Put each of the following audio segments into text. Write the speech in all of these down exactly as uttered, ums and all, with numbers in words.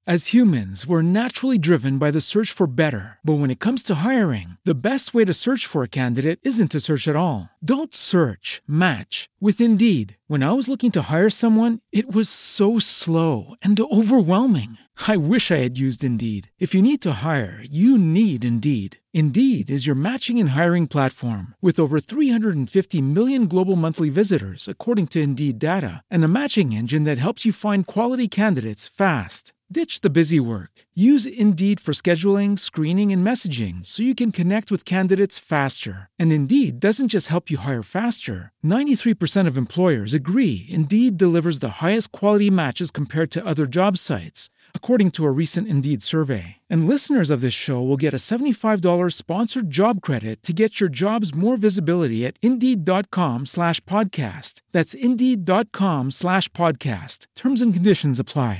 As humans, we're naturally driven by the search for better. But when it comes to hiring, the best way to search for a candidate isn't to search at all. Don't search, match with Indeed. When I was looking to hire someone, it was so slow and overwhelming. I wish I had used Indeed. If you need to hire, you need Indeed. Indeed is your matching and hiring platform with over three hundred fifty million global monthly visitors, according to Indeed data, and a matching engine that helps you find quality candidates fast. Ditch the busy work. Use Indeed for scheduling, screening, and messaging so you can connect with candidates faster. And Indeed doesn't just help you hire faster. ninety-three percent of employers agree Indeed delivers the highest quality matches compared to other job sites, according to a recent Indeed survey. And listeners of this show will get a seventy-five dollars sponsored job credit to get your jobs more visibility at Indeed.com slash podcast. That's Indeed.com slash podcast. Terms and conditions apply.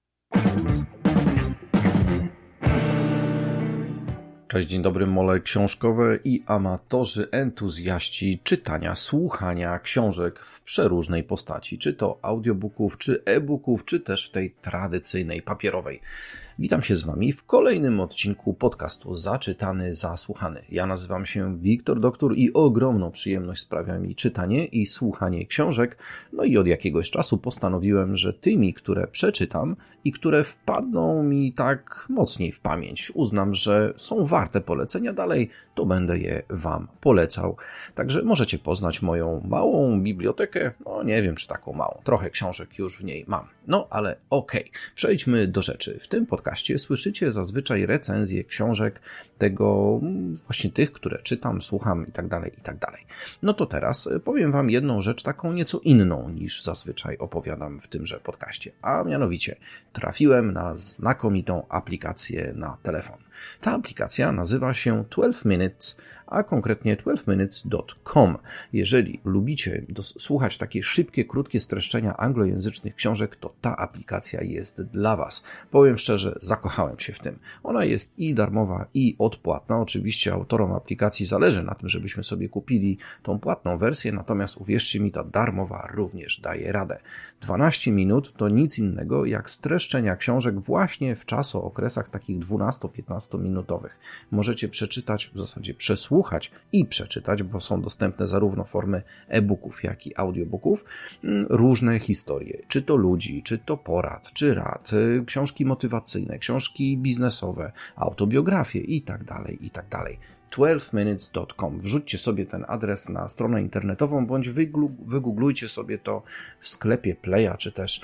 Cześć, dzień dobry, mole książkowe i amatorzy, entuzjaści czytania, słuchania książek w przeróżnej postaci, czy to audiobooków, czy e-booków, czy też w tej tradycyjnej papierowej. Witam się z Wami w kolejnym odcinku podcastu Zaczytany, Zasłuchany. Ja nazywam się Wiktor Doktor i ogromną przyjemność sprawia mi czytanie i słuchanie książek. No i od jakiegoś czasu postanowiłem, że tymi, które przeczytam i które wpadną mi tak mocniej w pamięć, uznam, że są warte polecenia dalej, to będę je Wam polecał. Także możecie poznać moją małą bibliotekę, no nie wiem czy taką małą, trochę książek już w niej mam. No ale okej, okay. Przejdźmy do rzeczy. W tym podcaście słyszycie zazwyczaj recenzje książek tego, właśnie tych, które czytam, słucham i tak dalej, i tak dalej. No to teraz powiem Wam jedną rzecz taką nieco inną niż zazwyczaj opowiadam w tymże podcaście, a mianowicie trafiłem na znakomitą aplikację na telefon. Ta aplikacja nazywa się twelve minutes, a konkretnie twelve minutes dot com. Jeżeli lubicie słuchać takie szybkie, krótkie streszczenia anglojęzycznych książek, to ta aplikacja jest dla Was. Powiem szczerze, zakochałem się w tym. Ona jest i darmowa, i odpłatna. Oczywiście autorom aplikacji zależy na tym, żebyśmy sobie kupili tą płatną wersję, natomiast uwierzcie mi, ta darmowa również daje radę. dwanaście minut to nic innego jak streszczenia książek właśnie w czasookresach takich dwunasto-piętnasto minutowych. Możecie przeczytać, w zasadzie przesłuchać i przeczytać, bo są dostępne zarówno formy e-booków, jak i audiobooków, różne historie, czy to ludzi, czy to porad, czy rad, książki motywacyjne, książki biznesowe, autobiografie i tak dalej, i tak dalej. twelve minutes dot com. Wrzućcie sobie ten adres na stronę internetową, bądź wygooglujcie sobie to w sklepie Playa, czy też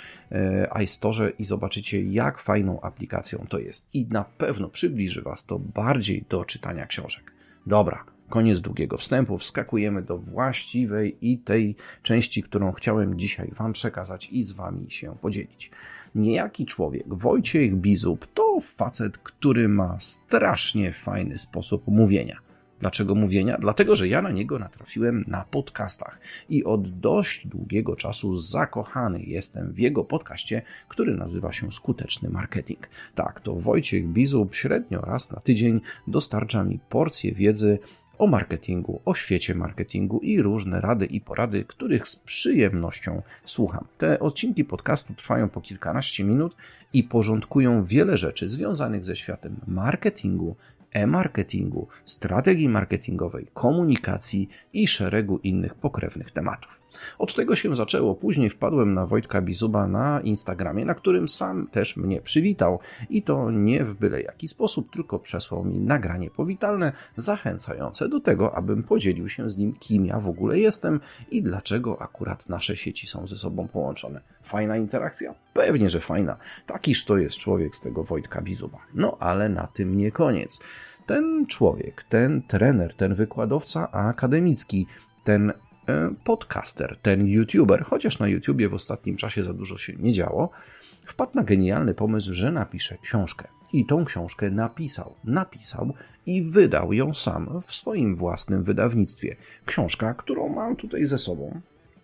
iStore i zobaczycie, jak fajną aplikacją to jest. I na pewno przybliży Was to bardziej do czytania książek. Dobra, koniec długiego wstępu, wskakujemy do właściwej i tej części, którą chciałem dzisiaj Wam przekazać i z Wami się podzielić. Niejaki człowiek, Wojciech Bizub, to facet, który ma strasznie fajny sposób mówienia. Dlaczego mówienia? Dlatego, że ja na niego natrafiłem na podcastach i od dość długiego czasu zakochany jestem w jego podcaście, który nazywa się Skuteczny Marketing. Tak, to Wojciech Bizub średnio raz na tydzień dostarcza mi porcję wiedzy o marketingu, o świecie marketingu i różne rady i porady, których z przyjemnością słucham. Te odcinki podcastu trwają po kilkanaście minut i porządkują wiele rzeczy związanych ze światem marketingu, e-marketingu, strategii marketingowej, komunikacji i szeregu innych pokrewnych tematów. Od tego się zaczęło. Później wpadłem na Wojtka Bizuba na Instagramie, na którym sam też mnie przywitał. I to nie w byle jaki sposób, tylko przesłał mi nagranie powitalne, zachęcające do tego, abym podzielił się z nim, kim ja w ogóle jestem i dlaczego akurat nasze sieci są ze sobą połączone. Fajna interakcja? Pewnie, że fajna. Takiż to jest człowiek z tego Wojtka Bizuba. No ale na tym nie koniec. Ten człowiek, ten trener, ten wykładowca akademicki, ten podcaster, ten youtuber, chociaż na YouTubie w ostatnim czasie za dużo się nie działo, wpadł na genialny pomysł, że napisze książkę. I tą książkę napisał, napisał i wydał ją sam w swoim własnym wydawnictwie. Książka, którą mam tutaj ze sobą.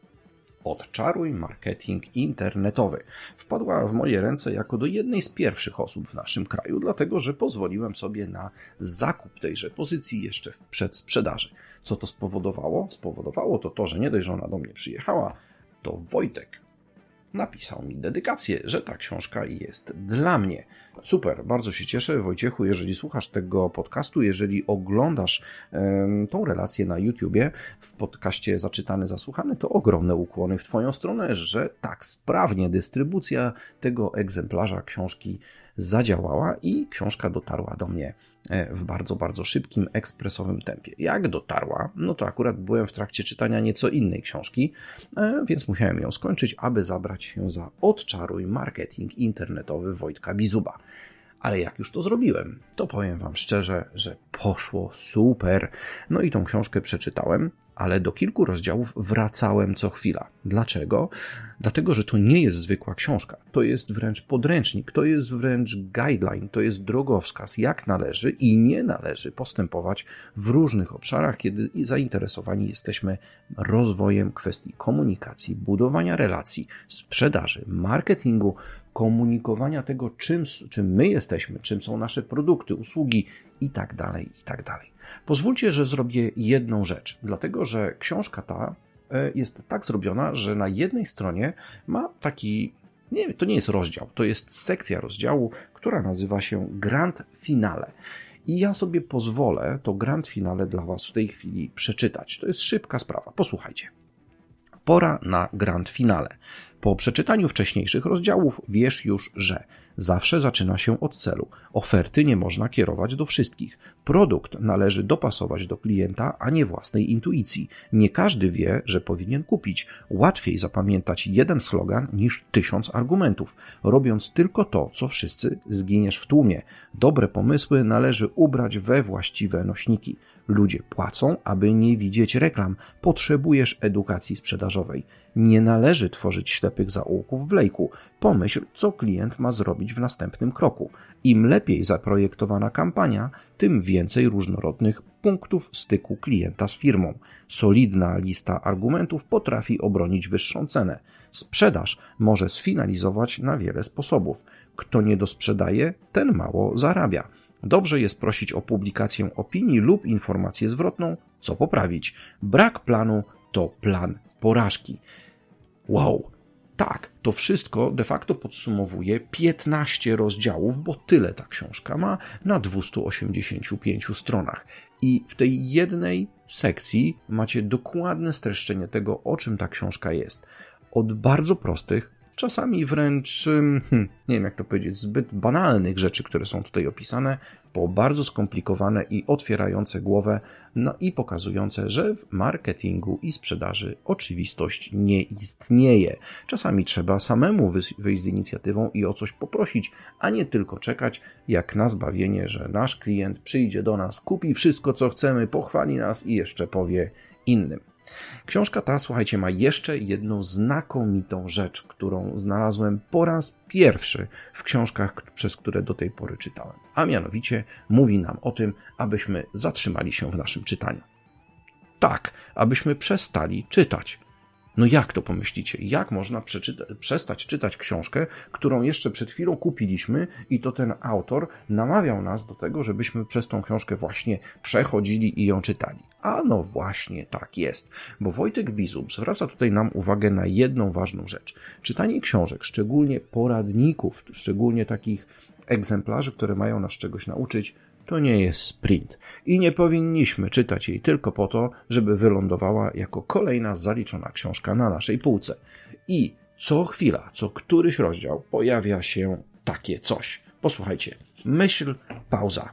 Odczaruj marketing internetowy. Wpadła w moje ręce jako do jednej z pierwszych osób w naszym kraju, dlatego że pozwoliłem sobie na zakup tejże pozycji jeszcze w przedsprzedaży. Co to spowodowało? Spowodowało to to, że nie dość, że ona do mnie przyjechała, to Wojtek napisał mi dedykację, że ta książka jest dla mnie. Super, bardzo się cieszę, Wojciechu, jeżeli słuchasz tego podcastu, jeżeli oglądasz um, tą relację na YouTubie, w podcaście Zaczytany, Zasłuchany, to ogromne ukłony w Twoją stronę, że tak sprawnie dystrybucja tego egzemplarza książki zadziałała i książka dotarła do mnie w bardzo, bardzo szybkim, ekspresowym tempie. Jak dotarła? No to akurat byłem w trakcie czytania nieco innej książki, więc musiałem ją skończyć, aby zabrać się za Odczaruj marketing internetowy Wojtka Bizuba. Ale jak już to zrobiłem, to powiem Wam szczerze, że poszło super. No i tą książkę przeczytałem, ale do kilku rozdziałów wracałem co chwila. Dlaczego? Dlatego, że to nie jest zwykła książka. To jest wręcz podręcznik, to jest wręcz guideline, to jest drogowskaz, jak należy i nie należy postępować w różnych obszarach, kiedy zainteresowani jesteśmy rozwojem kwestii komunikacji, budowania relacji, sprzedaży, marketingu, komunikowania tego, czym, czym my jesteśmy, czym są nasze produkty, usługi i tak dalej, i tak dalej. Pozwólcie, że zrobię jedną rzecz, dlatego że książka ta jest tak zrobiona, że na jednej stronie ma taki, nie, to nie jest rozdział, to jest sekcja rozdziału, która nazywa się Grand Finale. I ja sobie pozwolę to Grand Finale dla Was w tej chwili przeczytać. To jest szybka sprawa, posłuchajcie. Pora na Grand Finale. Po przeczytaniu wcześniejszych rozdziałów wiesz już, że zawsze zaczyna się od celu. Oferty nie można kierować do wszystkich. Produkt należy dopasować do klienta, a nie własnej intuicji. Nie każdy wie, że powinien kupić. Łatwiej zapamiętać jeden slogan niż tysiąc argumentów. Robiąc tylko to, co wszyscy, zginiesz w tłumie. Dobre pomysły należy ubrać we właściwe nośniki. Ludzie płacą, aby nie widzieć reklam. Potrzebujesz edukacji sprzedażowej. Nie należy tworzyć ślepych zaułków w lejku. Pomyśl, co klient ma zrobić w następnym kroku. Im lepiej zaprojektowana kampania, tym więcej różnorodnych punktów styku klienta z firmą. Solidna lista argumentów potrafi obronić wyższą cenę. Sprzedaż może sfinalizować na wiele sposobów. Kto nie dosprzedaje, ten mało zarabia. Dobrze jest prosić o publikację opinii lub informację zwrotną, co poprawić. Brak planu to plan porażki. Wow, tak, to wszystko de facto podsumowuje piętnaście rozdziałów, bo tyle ta książka ma na dwustu osiemdziesięciu pięciu stronach. I w tej jednej sekcji macie dokładne streszczenie tego, o czym ta książka jest. Od bardzo prostych, czasami wręcz, hmm, nie wiem jak to powiedzieć, zbyt banalnych rzeczy, które są tutaj opisane, po bardzo skomplikowane i otwierające głowę, no i pokazujące, że w marketingu i sprzedaży oczywistość nie istnieje. Czasami trzeba samemu wyjść z inicjatywą i o coś poprosić, a nie tylko czekać jak na zbawienie, że nasz klient przyjdzie do nas, kupi wszystko co chcemy, pochwali nas i jeszcze powie innym. Książka ta, słuchajcie, ma jeszcze jedną znakomitą rzecz, którą znalazłem po raz pierwszy w książkach, przez które do tej pory czytałem. A mianowicie mówi nam o tym, abyśmy zatrzymali się w naszym czytaniu. Tak, abyśmy przestali czytać. No jak to pomyślicie? Jak można przeczyta- przestać czytać książkę, którą jeszcze przed chwilą kupiliśmy i to ten autor namawiał nas do tego, żebyśmy przez tą książkę właśnie przechodzili i ją czytali. A no właśnie tak jest, bo Wojtek Bizub zwraca tutaj nam uwagę na jedną ważną rzecz. Czytanie książek, szczególnie poradników, szczególnie takich egzemplarzy, które mają nas czegoś nauczyć, to nie jest sprint i nie powinniśmy czytać jej tylko po to, żeby wylądowała jako kolejna zaliczona książka na naszej półce. I co chwila, co któryś rozdział pojawia się takie coś. Posłuchajcie, myśl, pauza.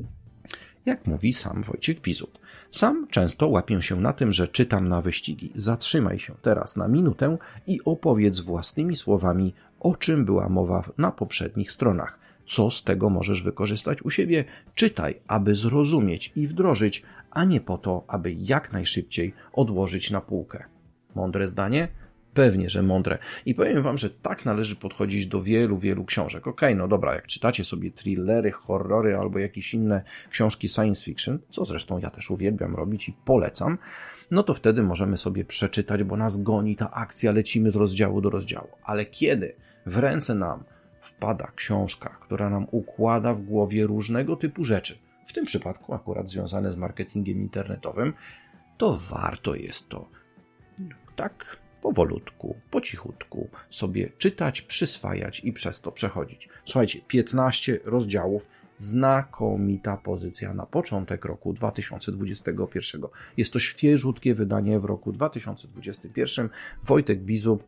Jak mówi sam Wojciech Bizub. Sam często łapię się na tym, że czytam na wyścigi. Zatrzymaj się teraz na minutę i opowiedz własnymi słowami, o czym była mowa na poprzednich stronach. Co z tego możesz wykorzystać u siebie? Czytaj, aby zrozumieć i wdrożyć, a nie po to, aby jak najszybciej odłożyć na półkę. Mądre zdanie? Pewnie, że mądre. I powiem wam, że tak należy podchodzić do wielu, wielu książek. Okej, okay, no dobra, jak czytacie sobie thrillery, horrory albo jakieś inne książki science fiction, co zresztą ja też uwielbiam robić i polecam, no to wtedy możemy sobie przeczytać, bo nas goni ta akcja, lecimy z rozdziału do rozdziału. Ale kiedy w ręce nam wpada książka, która nam układa w głowie różnego typu rzeczy, w tym przypadku akurat związane z marketingiem internetowym, to warto jest to tak powolutku, po cichutku sobie czytać, przyswajać i przez to przechodzić. Słuchajcie, piętnaście rozdziałów, znakomita pozycja na początek roku dwa tysiące dwudziestego pierwszego. Jest to świeżutkie wydanie w roku dwa tysiące dwudziestym pierwszym. Wojtek Bizub,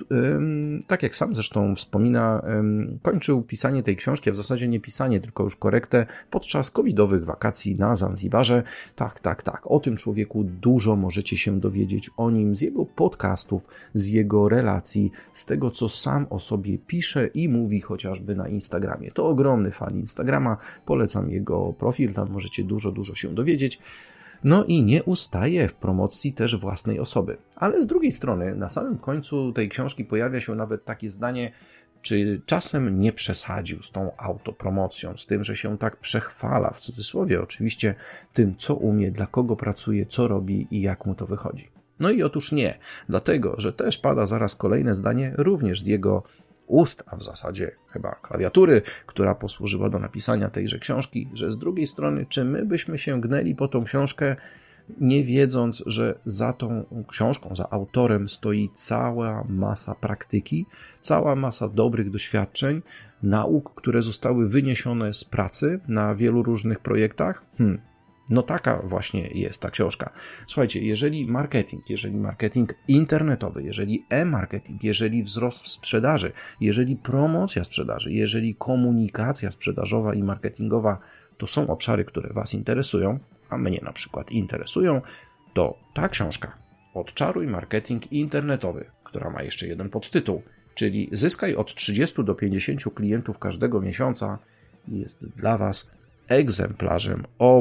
tak jak sam zresztą wspomina, kończył pisanie tej książki, a w zasadzie nie pisanie, tylko już korektę podczas covidowych wakacji na Zanzibarze. Tak, tak, tak. O tym człowieku dużo możecie się dowiedzieć o nim z jego podcastów, z jego relacji, z tego, co sam o sobie pisze i mówi chociażby na Instagramie. To ogromny fan Instagrama. Polecam jego profil, tam możecie dużo, dużo się dowiedzieć. No i nie ustaje w promocji też własnej osoby. Ale z drugiej strony, na samym końcu tej książki pojawia się nawet takie zdanie, czy czasem nie przesadził z tą autopromocją, z tym, że się tak przechwala, w cudzysłowie oczywiście, tym, co umie, dla kogo pracuje, co robi i jak mu to wychodzi. No i otóż nie, dlatego, że też pada zaraz kolejne zdanie, również z jego ust, a w zasadzie chyba klawiatury, która posłużyła do napisania tejże książki, że z drugiej strony, czy my byśmy się gnęli po tą książkę, nie wiedząc, że za tą książką, za autorem stoi cała masa praktyki, cała masa dobrych doświadczeń, nauk, które zostały wyniesione z pracy na wielu różnych projektach? Hmm. No taka właśnie jest ta książka. Słuchajcie, jeżeli marketing, jeżeli marketing internetowy, jeżeli e-marketing, jeżeli wzrost w sprzedaży, jeżeli promocja sprzedaży, jeżeli komunikacja sprzedażowa i marketingowa to są obszary, które Was interesują, a mnie na przykład interesują, to ta książka Odczaruj marketing internetowy, która ma jeszcze jeden podtytuł, czyli zyskaj od trzydziestu do pięćdziesięciu klientów każdego miesiąca, jest dla Was egzemplarzem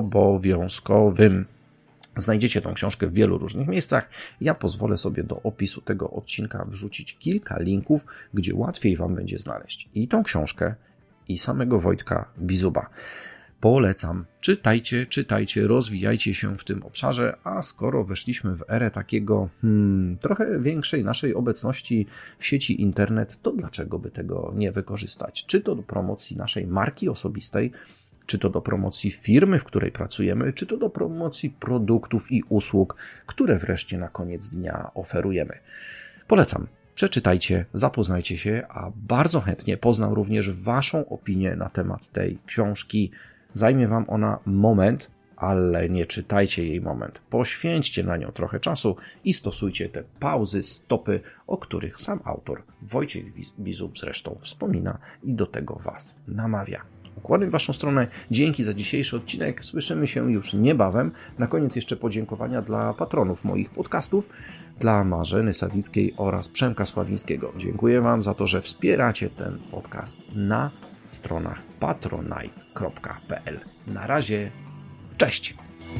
obowiązkowym. Znajdziecie tą książkę w wielu różnych miejscach. Ja pozwolę sobie do opisu tego odcinka wrzucić kilka linków, gdzie łatwiej Wam będzie znaleźć i tą książkę, i samego Wojtka Bizuba. Polecam. Czytajcie, czytajcie, rozwijajcie się w tym obszarze, a skoro weszliśmy w erę takiego hmm, trochę większej naszej obecności w sieci internet, to dlaczego by tego nie wykorzystać? Czy to do promocji naszej marki osobistej, czy to do promocji firmy, w której pracujemy, czy to do promocji produktów i usług, które wreszcie na koniec dnia oferujemy. Polecam. Przeczytajcie, zapoznajcie się, a bardzo chętnie poznam również Waszą opinię na temat tej książki. Zajmie Wam ona moment, ale nie czytajcie jej moment. Poświęćcie na nią trochę czasu i stosujcie te pauzy, stopy, o których sam autor Wojciech Bizub zresztą wspomina i do tego Was namawia. Ukłony w Waszą stronę. Dzięki za dzisiejszy odcinek. Słyszymy się już niebawem. Na koniec jeszcze podziękowania dla patronów moich podcastów, dla Marzeny Sawickiej oraz Przemka Sławińskiego. Dziękuję Wam za to, że wspieracie ten podcast na stronach patronite kropka p l. Na razie, cześć!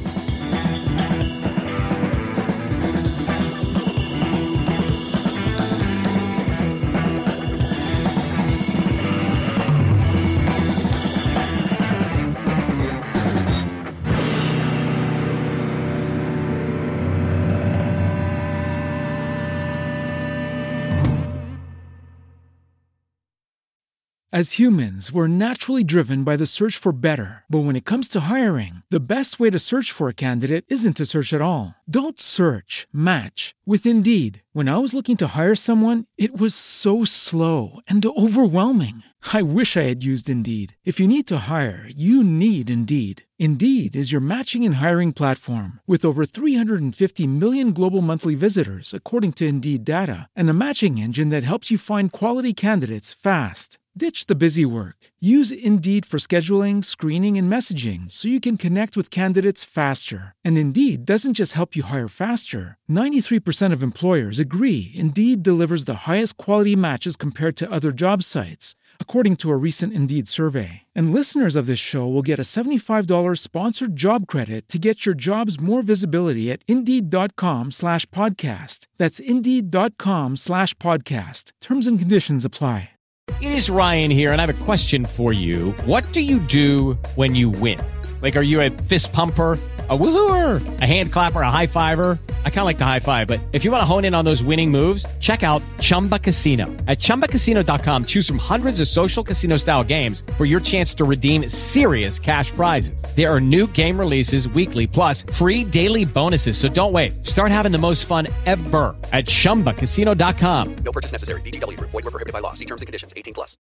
As humans, we're naturally driven by the search for better. But when it comes to hiring, the best way to search for a candidate isn't to search at all. Don't search, match with Indeed. When I was looking to hire someone, it was so slow and overwhelming. I wish I had used Indeed. If you need to hire, you need Indeed. Indeed is your matching and hiring platform with over three hundred fifty million global monthly visitors, according to Indeed data, and a matching engine that helps you find quality candidates fast. Ditch the busy work. Use Indeed for scheduling, screening, and messaging so you can connect with candidates faster. And Indeed doesn't just help you hire faster. ninety-three percent of employers agree Indeed delivers the highest quality matches compared to other job sites, according to a recent Indeed survey. And listeners of this show will get a seventy-five dollars sponsored job credit to get your jobs more visibility at Indeed.com slash podcast. That's Indeed.com slash podcast. Terms and conditions apply. It is Ryan here, and I have a question for you. What do you do when you win? Like, are you a fist pumper, a woohooer, a hand clapper, a high fiver? I kind of like the high five, but if you want to hone in on those winning moves, check out Chumba Casino. At chumba casino dot com, choose from hundreds of social casino style games for your chance to redeem serious cash prizes. There are new game releases weekly, plus free daily bonuses. So don't wait. Start having the most fun ever at chumba casino dot com. No purchase necessary. V G W Group. Void where prohibited by law. See terms and conditions. eighteen plus.